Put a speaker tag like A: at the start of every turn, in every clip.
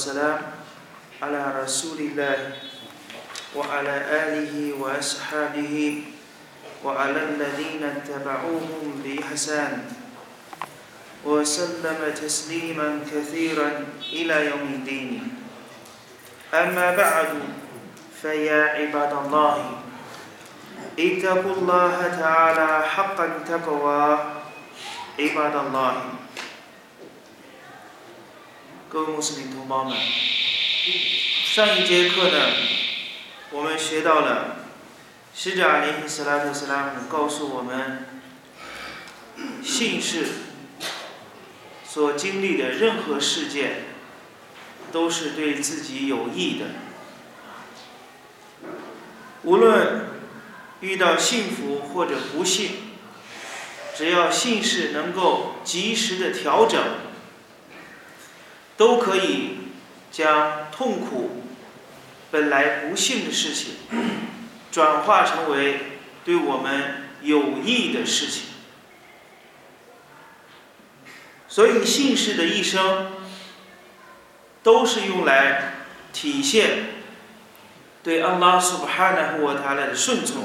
A: والسلام على رسول الله وعلى آله وأصحابه وعلى الذين اتبعوهم بإحسان وسلم تسليما كثيرا إلى يوم الدين. أما بعد فيا عباد الله اتقوا الله تعالى حق التقوى عباد الله。各位穆斯林同胞们，上一节课呢，我们学到了使者阿里·斯拉特·斯拉姆告诉我们，信士所经历的任何事件都是对自己有益的，无论遇到幸福或者不幸，只要信士能够及时的调整，都可以将痛苦本来不幸的事情转化成为对我们有益的事情。所以信士的一生都是用来体现对安拉苏布哈纳胡瓦塔拉的顺从。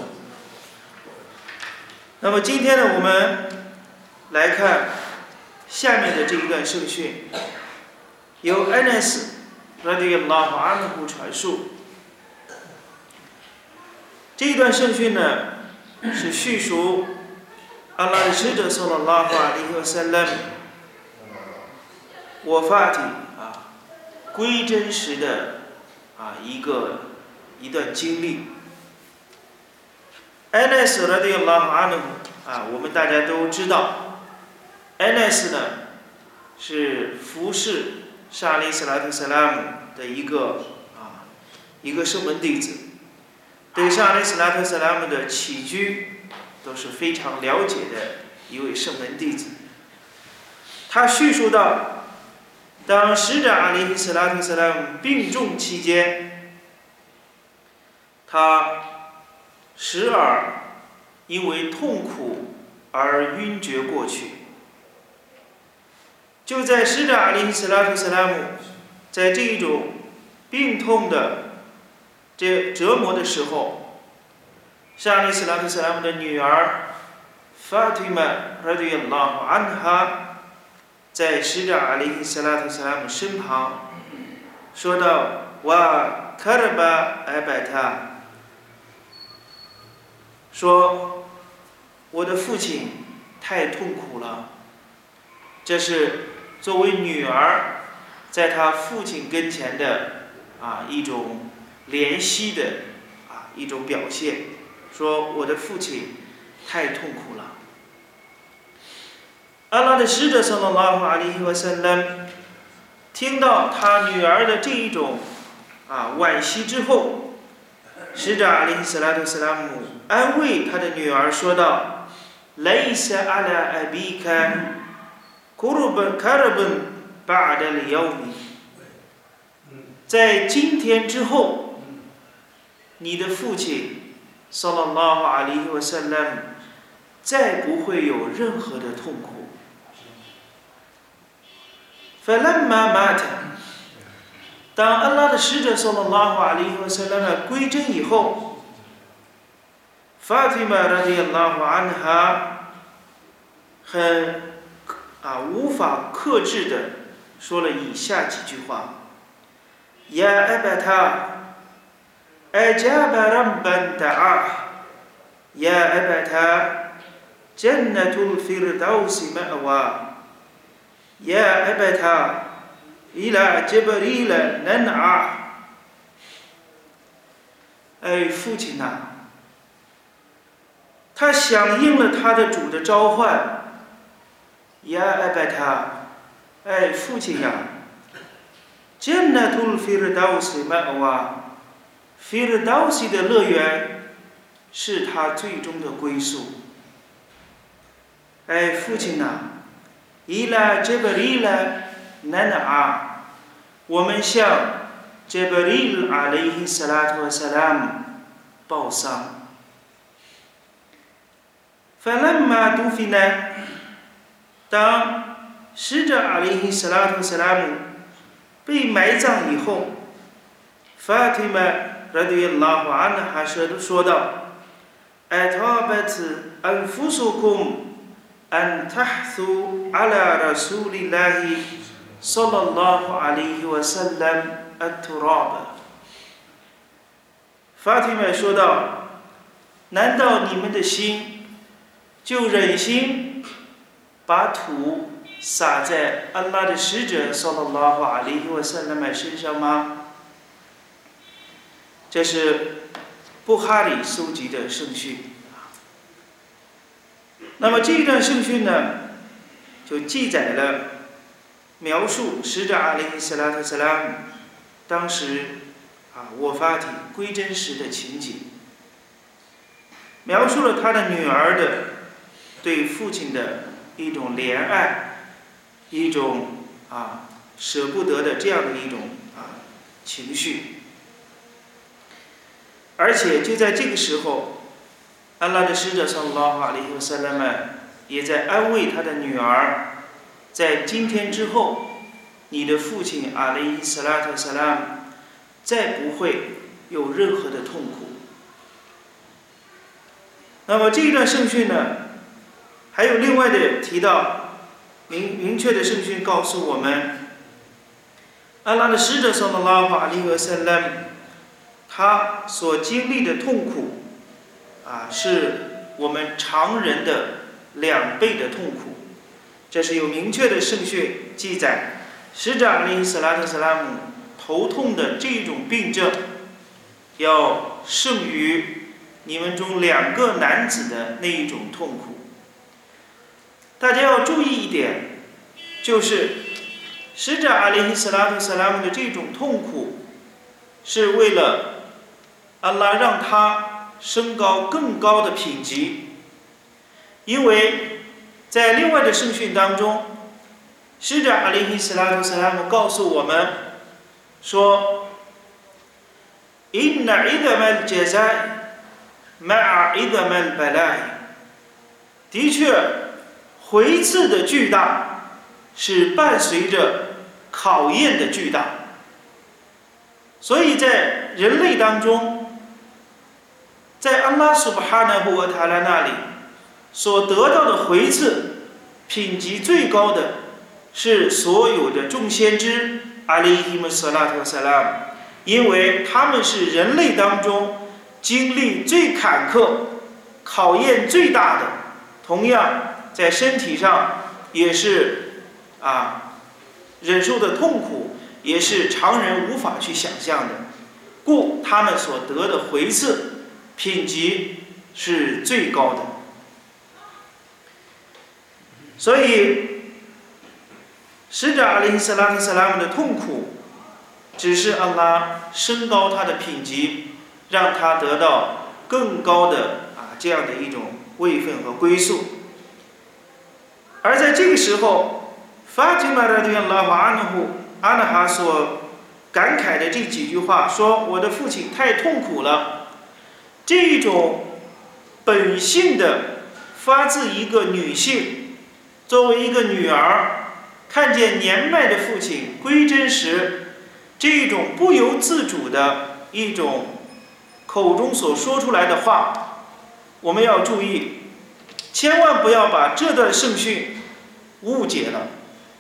A: 那么今天呢，我们来看下面的这一段圣训，由安纳斯radiyallahu anhu传述。这一段圣训呢，是叙述安拉的使者 sallallahu alaihi wasallam 我发体归真时的一段经历。安纳斯 radiyallahu anhu 我们大家都知道，安纳斯呢是服侍沙利斯拉特萨拉姆的一个圣门弟子，对沙利斯拉特萨拉姆的起居都是非常了解的一位圣门弟子。他叙述到，当使者阿里·斯拉特萨拉姆病重期间，他时而因为痛苦而晕厥过去。就在使者阿里·斯拉特萨拉姆在这一种病痛的折磨的时候，沙利斯拉特萨拉姆的女儿法蒂玛 radiyallahu anha 在使者阿里·斯拉特萨拉姆身旁说道：“哇卡尔巴艾拜塔，说我的父亲太痛苦了。”这是作为女儿在她父亲跟前的一种怜惜的一种表现，说我的父亲太痛苦了。安拉的使者 sallallahu alaihi wasallam 听到他女儿的这一种惋惜之后，使者阿里·斯拉特·斯拉姆安慰他的女儿说道：“Laysa ala abika karban ba'da al-yawm， 在今天之后，你的父亲 sallallahu alaihi wasallam 再不会有任何的痛苦。فلما مات， 当安拉的使者 sallallahu alaihi wasallam 归真以后，法蒂玛 radiyallahu anha 很无法克制的说了以下几句话：“Ya abata ajaba rabban da'ah Ya abata jannatul firdaus ma'wa Ya abata ila jibril nan'a。” 父亲啊，他响应了他的主的召唤。呀阿拜塔，父亲呀，Jannatul Firdaus ma'wa， Firdaus 的乐园是他最终的归宿。父亲呐，Ila Jibril nan'a， 我们向 Jibril alayhi salatu wasalam 报丧。فلما دفن， 当使者阿里·斯拉特·斯拉姆被埋葬以后，法蒂玛radiyallahu anha说道 ：“أَتَابَتْ أَنفُسُكُمْ أَنْ تَحْثُوا عَلَى رَسُولِ اللَّهِ صلى الله عليه وسلم التراب。”法蒂玛说道：“难道你们的心就忍心把土撒在安拉的使者 sallallahu alaihi wasallam 身上吗？”这是布哈里搜集的圣训。那么这一段圣训呢，就记载了描述使者阿里斯拉特斯拉姆当时沃法体归真时的情景，描述了他的女儿的对父亲的一种怜爱，一种舍不得的这样的一种情绪。而且就在这个时候，安拉的使者 sallallahu alaihi wasallam 也在安慰他的女儿，在今天之后，你的父亲阿里伊斯拉特萨拉姆再不会有任何的痛苦。那么这一段圣训呢，还有另外的提到明确的圣训告诉我们，安拉的使者 sallallahu alaihi wasallam 他所经历的痛苦是我们常人的2倍的痛苦。这是有明确的圣训记载，使者阿里斯拉特斯拉姆头痛的这种病症要胜于你们中2个男子的那一种痛苦。大家要注意一点，就是使者阿里斯拉特斯拉姆的这种痛苦是为了安拉让他升高更高的品级。因为在另外的圣训当中，使者阿里斯拉特斯拉姆告诉我们说 إِنَّ عِظَمَ الْجَزَاءِ مَعَ عِظَمِ الْبَلَاءِ 的确，回赐的巨大是伴随着考验的巨大。所以在人类当中，在安拉苏巴哈纳布瓦塔拉那里所得到的回赐品级最高的是所有的众先知阿里伊姆斯拉特萨拉姆，因为他们是人类当中经历最坎坷、考验最大的，同样在身体上也是忍受的痛苦也是常人无法去想象的，故他们所得的回赐品级是最高的。所以使者阿里斯拉特斯拉姆的痛苦只是安拉升高他的品级，让他得到更高的这样的一种位分和归宿。而在这个时候，法蒂玛radiyallahu anha所感慨的这几句话说，我的父亲太痛苦了，这一种本性的发自一个女性作为一个女儿看见年迈的父亲归真时，这一种不由自主的一种口中所说出来的话，我们要注意，千万不要把这段圣训误解了。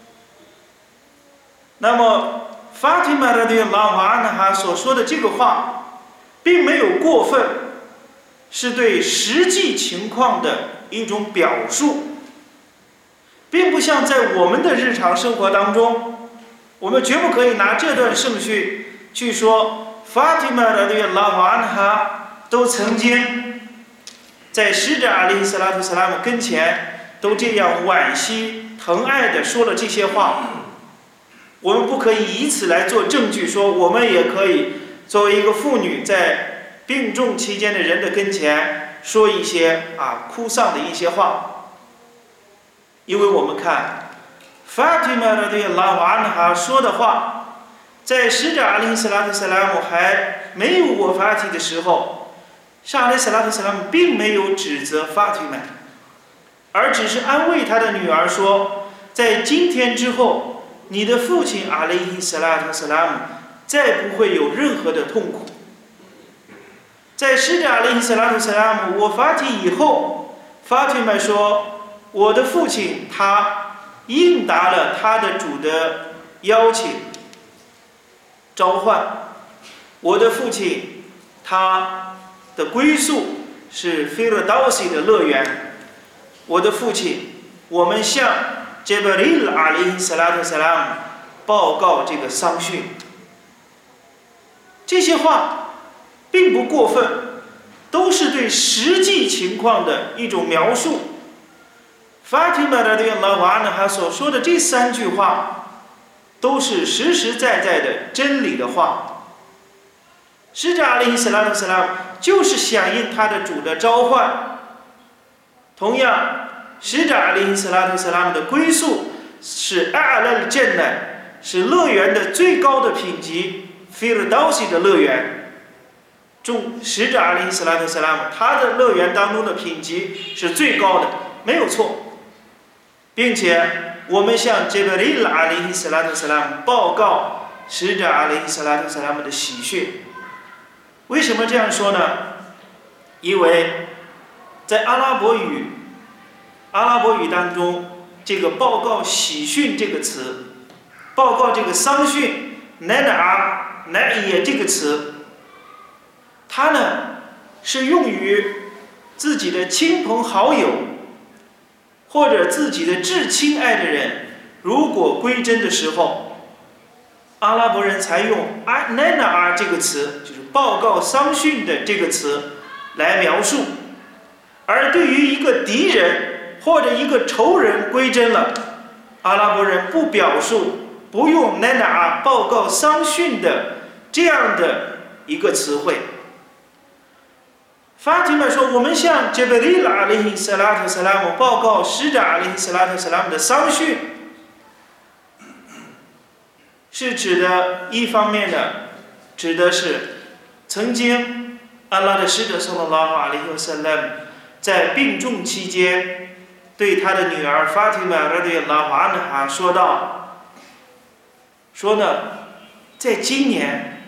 A: 那么法蒂玛radiyallahu anha所说的这个话并没有过分，是对实际情况的一种表述，并不像在我们的日常生活当中，我们绝不可以拿这段圣训去说法蒂玛radiyallahu anha都曾经在使者阿里斯拉特斯拉姆跟前都这样惋惜疼爱的说了这些话。我们不可以以此来做证据，说我们也可以作为一个妇女在病重期间的人的跟前说一些哭丧的一些话。因为我们看法蒂玛radiyallahu anha说的话，在使者阿里斯拉特斯拉姆还没有沃法体的时候，阿里斯拉特斯拉姆并没有指责法蒂玛，而只是安慰他的女儿说，在今天之后你的父亲阿雷伊斯拉特斯拉姆再不会有任何的痛苦。在使者阿雷伊斯拉特斯拉姆我发体以后，法提玛说，我的父亲他应答了他的主的邀请召唤，我的父亲他的归宿是菲尔道西的乐园。我的父亲，我们向杰布里尔阿里斯拉特斯拉姆报告这个丧讯。这些话并不过分，都是对实际情况的一种描述。法提玛的拉瓦呢，他所说的这3句话，都是实实在在的真理的话。使者阿里斯拉特斯拉姆就是响应他的主的召唤。同样，使者阿里斯拉特斯拉姆的归宿是阿拉的镇乃，是乐园的最高的品级，菲尔道西的乐园。使者阿里斯拉特斯拉姆他的乐园当中的品级是最高的，没有错。并且我们向杰布里尔阿里斯拉特斯拉姆报告使者阿里斯拉特斯拉姆的喜讯。为什么这样说呢？因为在阿拉伯语当中，这个报告喜讯这个词，报告这个丧讯乃也这个词，它呢是用于自己的亲朋好友或者自己的至亲爱的人如果归真的时候，阿拉伯人才用乃这个词，就是报告丧讯的这个词来描述。而对于一个敌人或者一个仇人归真了，阿拉伯人不用乃报告丧讯的这样的一个词汇。法提玛说，我们向杰布里尔阿里斯拉特斯拉姆报告使者阿里斯拉特斯拉姆的丧讯，是指的一方面的，指的是曾经安拉的使者صلى الله عليه وسلم在病重期间对他的女儿法提玛رضي الله عنها说道，说呢，在今年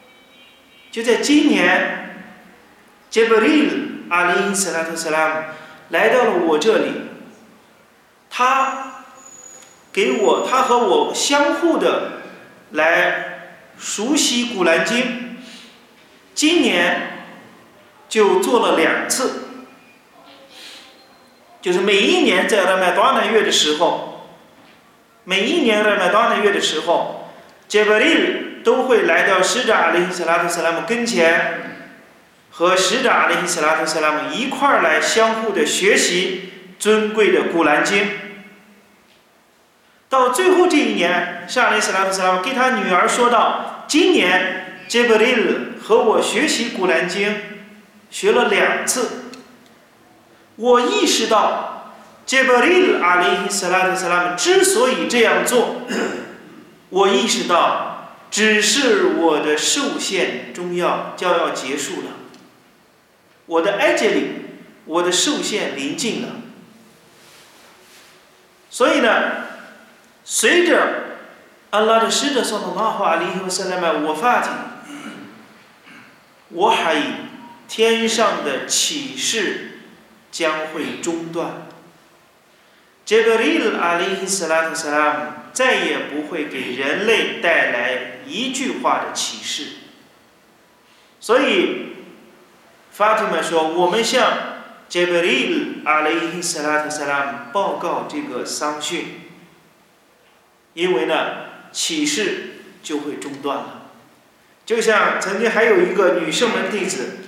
A: 杰布里尔阿里斯拉特斯拉姆来到了我这里，他和我相互的来熟悉古兰经，今年就做了2次，就是每一年在拉麦多纳月的时候，杰布里尔都会来到使者阿里斯拉特斯拉姆跟前，和使者阿里斯拉特斯拉姆一块儿来相互的学习尊贵的古兰经。到最后这一年，阿里斯拉特斯拉姆给他女儿说道，今年杰布里尔和我学习古兰经学了2次。我意识到杰布里尔阿里斯拉特斯拉姆之所以这样做，我意识到只是我的受限终将要结束了，我的埃及里，我的受限临近了。所以呢，随着安拉的使者صلى الله عليه وسلم我发体，我还天上的启示将会中断。杰布里尔阿里斯拉特斯拉姆再也不会给人类带来一句话的启示。所以法提玛说，我们向杰布里尔阿里斯拉特斯拉姆报告这个丧讯，因为呢启示就会中断了。就像曾经还有一个女圣门弟子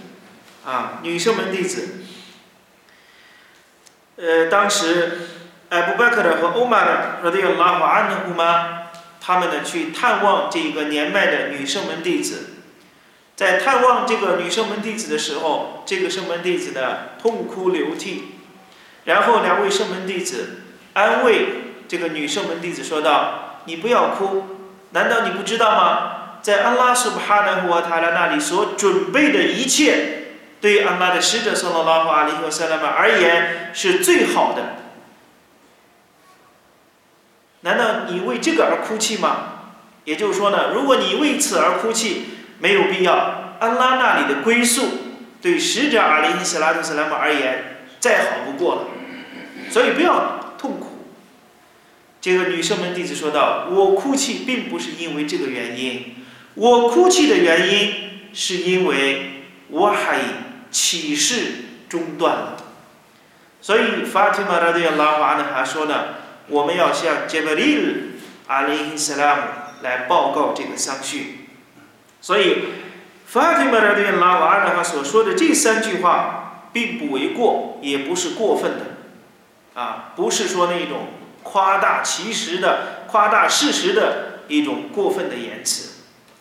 A: 当时艾布拜克尔和欧玛尔radiyallahu anhuma他们呢去探望这个年迈的女圣门弟子。在探望这个女圣门弟子的时候，这个圣门弟子呢痛哭流涕，然后2位圣门弟子安慰这个女圣门弟子说道，你不要哭，难道你不知道吗？在安拉苏巴哈纳胡瓦塔拉那里所准备的一切，对于安拉的使者صلى الله عليه وسلم而言是最好的。 难道你为这个而哭泣吗？也就是说呢，如果你为此而哭泣，没有必要。安拉那里的归宿对使者阿里·斯拉特·斯拉姆而言再好不过了，所以不要痛苦。这个女圣门弟子说道：“我哭泣并不是因为这个原因，我哭泣的原因是因为我还启示中断了。”所以法提玛拉对拉瓦呢还说呢，我们要向杰布里尔阿里·斯拉姆来报告这个丧讯。所以法提玛拉对拉瓦呢他所说的这3句话并不为过，也不是过分的，不是说那种夸大其实的、夸大事实的一种过分的言辞。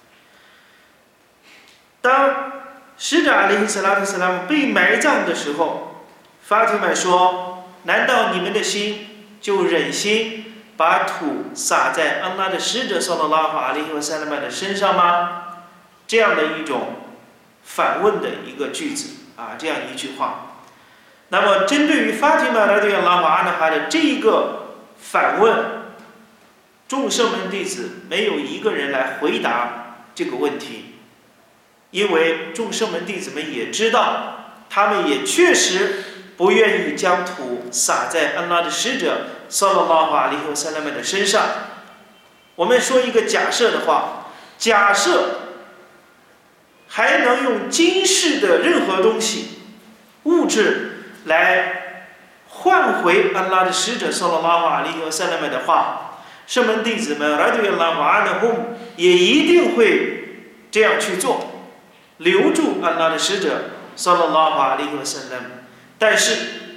A: 当使者阿里·斯拉特·斯拉姆被埋葬的时候，法提玛说：“难道你们的心就忍心把土撒在安拉的使者sallallahu alaihi wasallam的身上吗？”这样的一种反问的一个句子这样一句话。那么针对于法提玛拉对拉瓦安哈的这一个反问，众圣门弟子没有一个人来回答这个问题，因为众圣门弟子们也知道，他们也确实不愿意将土撒在安拉的使者sallallahu alaihi wasallam的身上。我们说一个假设的话，假设还能用今世的任何东西、物质来换回安拉的使者sallallahu alaihi wasallam的话，圣门弟子们radiyallahu anhum也一定会这样去做，留住安拉的使者sallallahu alaihi wasallam。但是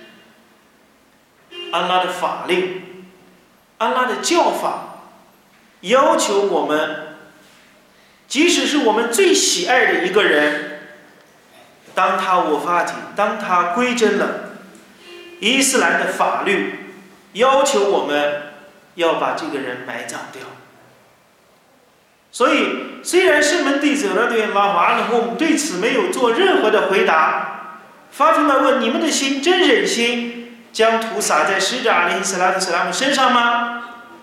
A: 安拉的法令、安拉的教法要求我们，即使是我们最喜爱的一个人，当他我发体，当他归真了，伊斯兰的法律要求我们要把这个人埋葬掉。所以虽然圣门弟子对此没有做任何的回答，法提玛问：你们的心真忍心将土撒在使者阿里·斯拉特·斯拉姆身上吗？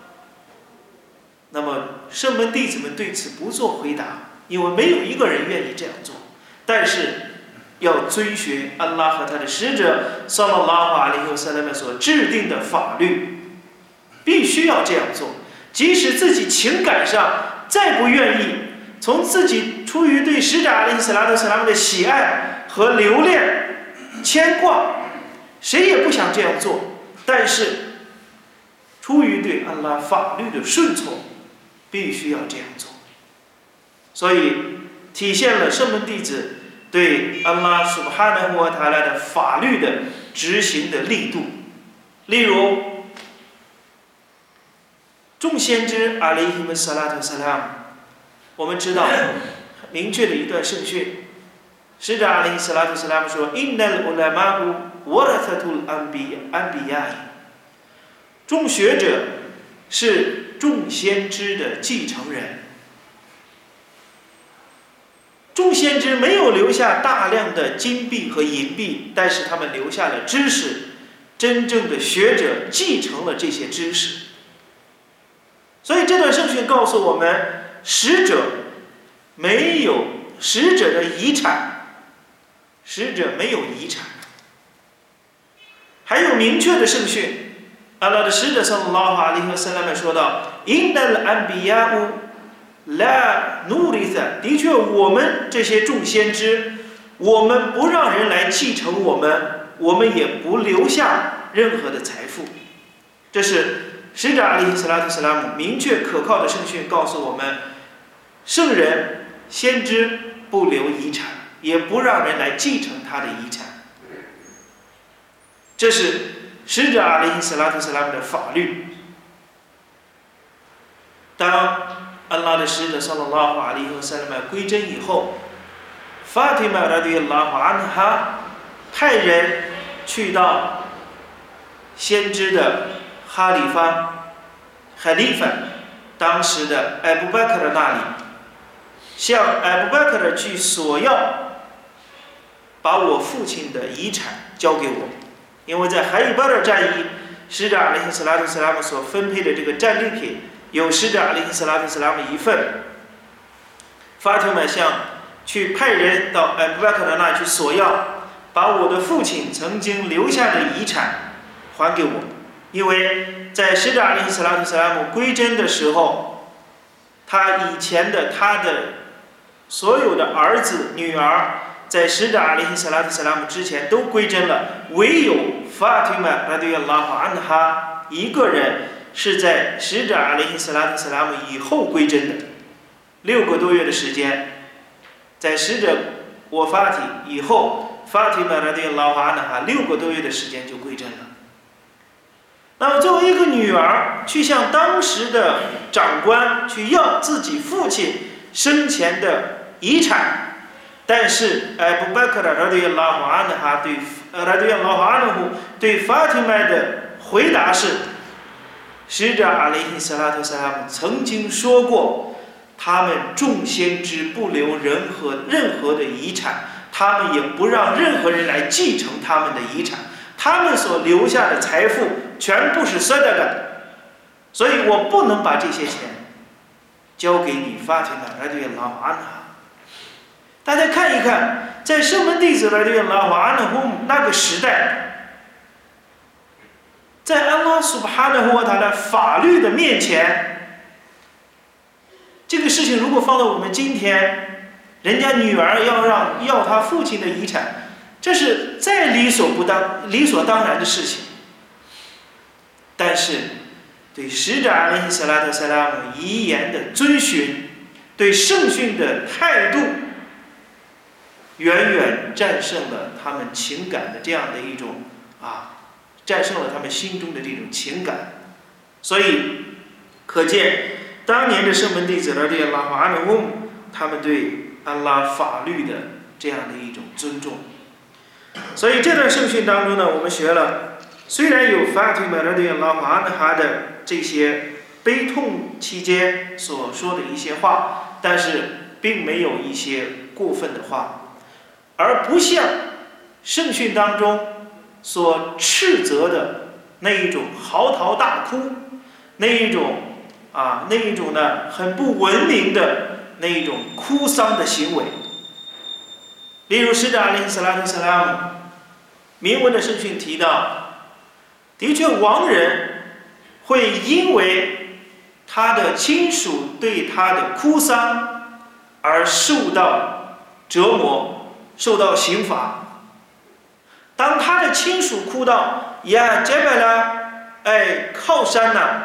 A: 那么圣门弟子们对此不做回答，因为没有一个人愿意这样做。但是要遵循安拉和他的使者sallallahu alaihi wasallam所制定的法律，必须要这样做。即使自己情感上再不愿意，从自己出于对使者阿里·斯拉特·斯拉姆的喜爱和留恋、牵挂，谁也不想这样做，但是出于对安拉法律的顺从，必须要这样做。所以体现了圣门弟子对安拉苏布哈纳沃塔拉的法律的执行的力度。例如众先知阿里希姆萨拉特萨拉姆，我们知道明确的一段圣训，使者阿里萨拉特萨拉姆说：“因那乌拉马乌沃拉特图安比亚，众学者是众先知的继承人。”众先知没有留下大量的金币和银币，但是他们留下了知识，真正的学者继承了这些知识。所以这段圣训告诉我们，使者没有使者的遗产，使者没有遗产。还有明确的圣训，安拉的使者sallallahu alaihi wasallam说道：“因那安比亚乌拉努里萨，的确，我们这些众先知，我们不让人来继承我们，我们也不留下任何的财富。”这是使者阿里·斯拉特·斯拉姆明确可靠的圣训告诉我们，圣人、先知不留遗产，也不让人来继承他的遗产。这是使者阿里·斯拉特·斯拉姆的法律。当安拉的使者sallallahu alaihi wasallam归真以后，法提玛radiyallahu anha派人去到先知的哈里发当时的艾布巴克的那里，向艾布巴克去索要把我父亲的遗产交给我，因为在海伊巴尔战役， 使者阿里·斯拉图斯拉姆所分配的这个战利品，有使者阿里·斯拉图斯拉姆一份。法蒂玛去派人到阿布巴克的那去索要，把我的父亲曾经留下的遗产还给我，因为在使者阿里·斯拉图斯拉姆归真的时候，他以前的他的所有的儿子女儿，在使者阿里·斯拉图斯拉姆之前都归真了，唯有法蒂玛拉迪亚拉哈安哈一个人是在使者阿里·斯拉图斯拉姆以后归真的，6个多月的时间，在使者我发体以后，法蒂玛拉迪亚拉哈安哈6个多月的时间就归真了。那么作为一个女儿去向当时的长官去要自己父亲生前的遗产，但是阿布巴克的拉迪亚拉哈安哈对法蒂玛的回答是，使者阿里·斯拉图斯拉姆曾经说过，他们众先知不留任何的遗产，他们也不让任何人来继承他们的遗产，他们所留下的财富全部是sadaqah的，所以我不能把这些钱交给你法蒂玛拉迪亚拉哈安哈。大家看一看，在圣门弟子拉迪亚拉哈安哈那个时代，在安拉苏巴哈纳胡他的法律的面前，这个事情如果放到我们今天，人家女儿要他父亲的遗产，这是再理所当然的事情。但是对使者阿里·斯拉特·塞拉姆遗言的遵循，对圣训的态度，远远战胜了他们情感的这样的一种战胜了他们心中的这种情感。所以可见当年的圣门弟子拉迪亚拉哈安努姆，他们对安拉法律的这样的一种尊重。所以这段圣训当中呢，我们学了，虽然有法蒂玛拉迪亚拉哈安哈的这些悲痛期间所说的一些话，但是并没有一些过分的话，而不像圣训当中所斥责的那一种嚎啕大哭，那一种呢很不文明的那一种哭丧的行为。例如使者阿里·斯拉特·塞拉姆明文的圣训提到，的确亡人会因为他的亲属对他的哭丧而受到折磨，受到刑罚。当他的亲属哭到呀杰拜拉，靠山呐，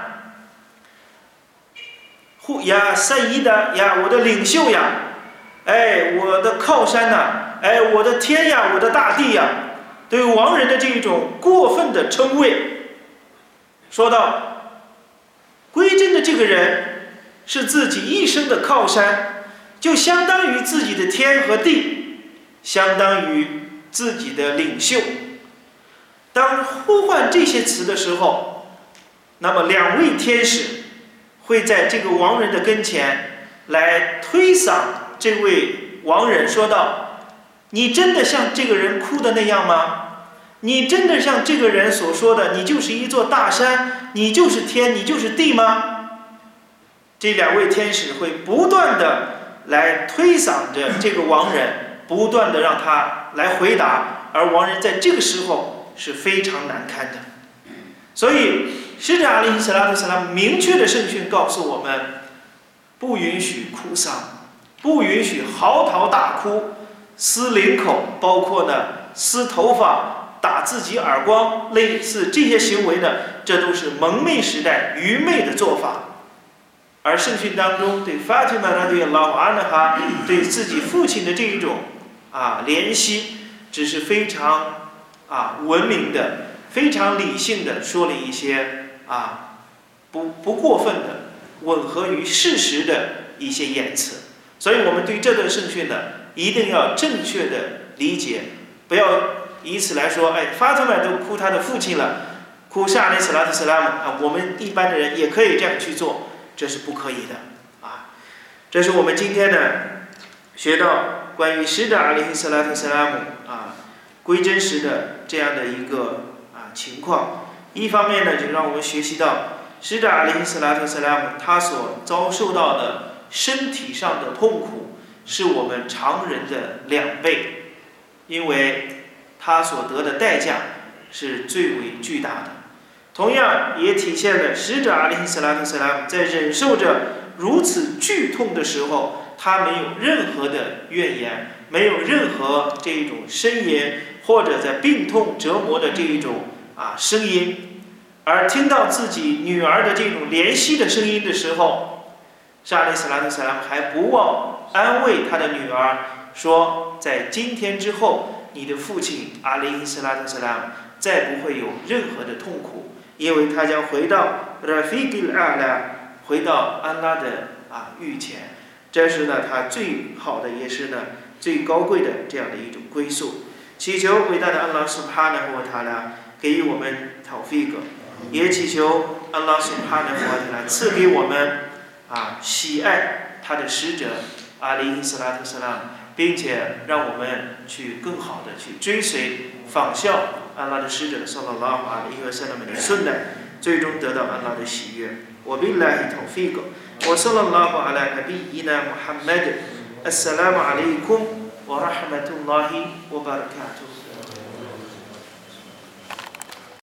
A: 呀赛伊的呀，我的领袖呀，我的靠山呐，我的天呀，我的大地呀，对亡人的这种过分的称谓，说到归真的这个人是自己一生的靠山，就相当于自己的天和地，相当于自己的领袖。当呼唤这些词的时候，那么2位天使会在这个亡人的跟前来推搡这位亡人，说道：你真的像这个人哭的那样吗？你真的像这个人所说的，你就是一座大山，你就是天，你就是地吗？这2位天使会不断的来推搡着这个亡人，不断的让他来回答，而亡人在这个时候是非常难堪的。所以使者阿里·斯拉特·塞拉姆明确的圣训告诉我们，不允许哭丧，不允许嚎啕大哭，撕领口，包括呢撕头发、打自己耳光，类似这些行为呢，这都是蒙昧时代愚昧的做法。而圣训当中对法蒂玛拉对拉哈安哈对自己父亲的这一种怜惜，只是非常文明的、非常理性的说了一些不过分的、吻合于事实的一些言辞。所以我们对这段圣训呢，一定要正确的理解，不要以此来说，法蒂玛都哭他的父亲了，哭沙雷斯拉特斯拉姆我们一般的人也可以这样去做，这是不可以的这是我们今天呢学到关于使者阿里·斯拉特·斯拉姆归真时的这样的一个情况。 一方面呢，就让我们学习到使者阿里·斯拉特·斯拉姆他所遭受到的身体上的痛苦是我们常人的2倍，因为他所得的代价是最为巨大的。同样也体现了使者阿里·斯拉特·斯拉姆在忍受着如此剧痛的时候，他没有任何的怨言，没有任何这一种呻吟，或者在病痛折磨的这一种声音。而听到自己女儿的这种怜惜的声音的时候，沙利斯拉特·萨拉姆还不忘安慰他的女儿说，在今天之后，你的父亲阿里斯拉特·萨拉姆再不会有任何的痛苦，因为他将回到 Rafiq al-A'la， 回到安拉的御前。这是呢他最好的，也是呢最高贵的这样的一种归宿。祈求伟大的安拉苏哈纳和塔拉给予我们tawfiq，也祈求安拉苏哈纳和塔拉赐给我们喜爱他的使者阿里斯拉特·萨拉姆，并且让我们去更好的去追随仿效安拉的使者صلى الله عليه وسلم的sunna，最终得到安拉的喜悦。وبالله توفيق وصلى الله على نبينا محمد. السلام عليكم ورحمة الله وبركاته.